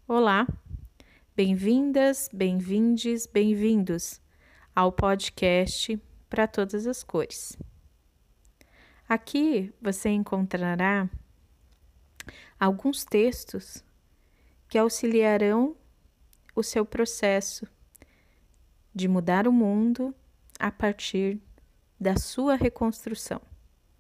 Olá, bem-vindas, bem-vindes, bem-vindos ao podcast para todas as cores. Aqui você encontrará alguns textos que auxiliarão o seu processo de mudar o mundo a partir da sua reconstrução.